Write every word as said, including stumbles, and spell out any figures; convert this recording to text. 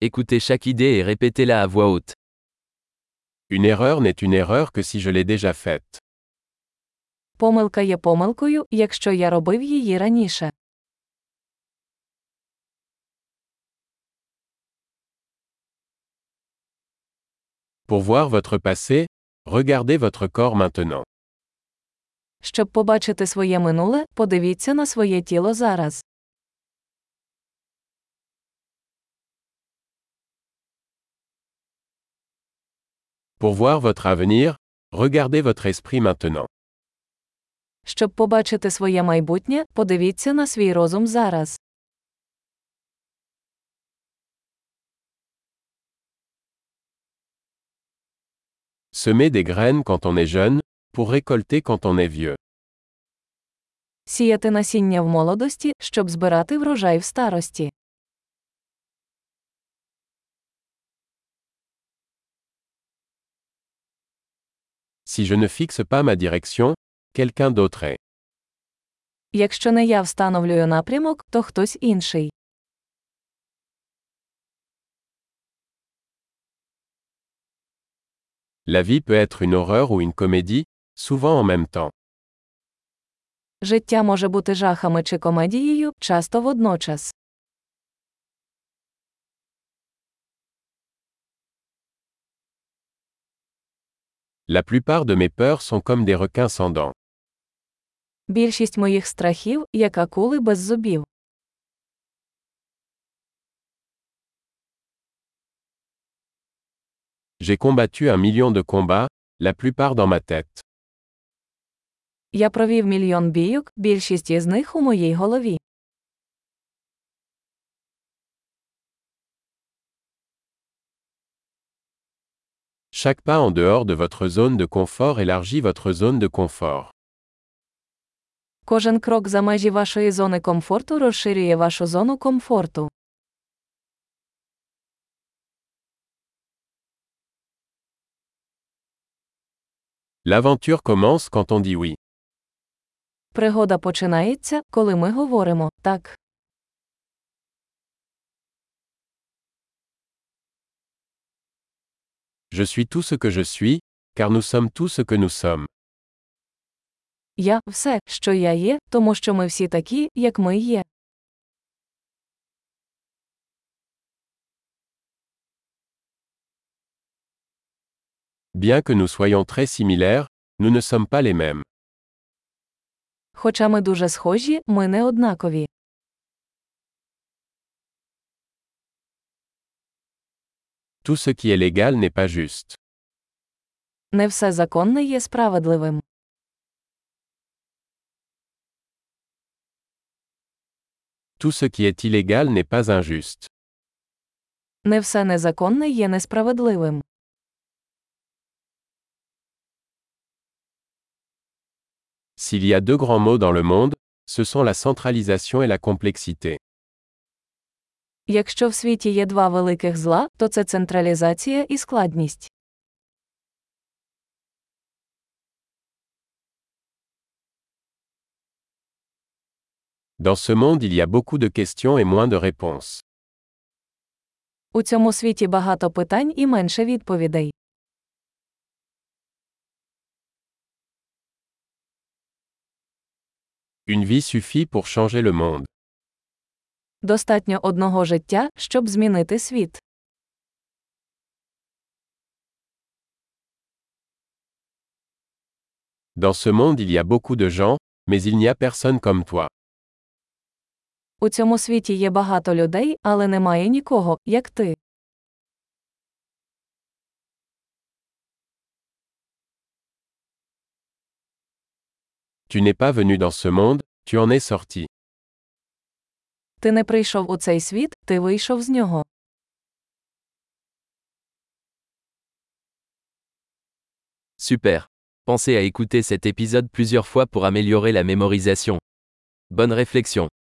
Écoutez chaque idée et répétez-la à voix haute. Une erreur n'est une erreur que si je l'ai déjà faite. Помилка є помилкою, якщо я робив її раніше. Pour voir votre passé, regardez votre corps maintenant. Щоб побачити своє минуле, подивіться на своє тіло зараз. Pour voir votre avenir, regardez votre esprit maintenant. Щоб побачити своє майбутнє, подивіться на свій розум зараз. Semer des graines quand on est jeune, pour récolter quand on est vieux. Сіяти насіння в молодості, щоб збирати врожай в старості. Si je ne fixe pas ma direction, quelqu'un d'autre est. Якщо не я встановлюю напрямок, то хтось інший. La vie peut être une horreur ou une comédie, souvent en même temps. Життя може бути жахами чи комедією, часто водночас. La plupart de mes peurs sont comme des requins sans dents. Більшість моїх страхів, як акули без зубів. J'ai combattu un million de combats, la plupart dans ma tête. Я провів мільйон бійок, більшість із них у моїй голові. Chaque pas en dehors de votre zone de confort élargit votre zone de confort. Кожен крок за межі вашої зони комфорту розширює вашу зону комфорту. L'aventure commence quand on dit oui. Пригода починається, коли ми говоримо «так». Je suis tout ce que je suis, car nous sommes tout ce que nous sommes. Я – все, що я є, тому що ми всі такі, як ми є. Bien que nous soyons très similaires, nous ne sommes pas les mêmes. Хоча ми дуже схожі, ми не однакові. Tout ce qui est légal n'est pas juste. Не все законне є справедливим. Tout ce qui est illégal n'est pas injuste. Не все незаконне є несправедливим. S'il y a deux grands mots dans le monde, ce sont la centralisation et la complexité. Якщо в світі є два великих зла, то це централізація і складність. Dans ce monde il y a beaucoup de questions et moins de réponses. У цьому світі багато питань і менше відповідей. Une vie suffit pour changer le monde. Достатньо одного життя, щоб змінити світ. Dans ce monde il y a beaucoup de gens, mais il n'y a personne comme toi. У цьому світі є багато людей, але немає нікого, як ти. Tu n'es pas venu dans ce monde, tu en es sorti. Ти не прийшов у цей світ, ти вийшов з нього. Super. Pensez à écouter cet épisode plusieurs fois pour améliorer la mémorisation. Bonne réflexion.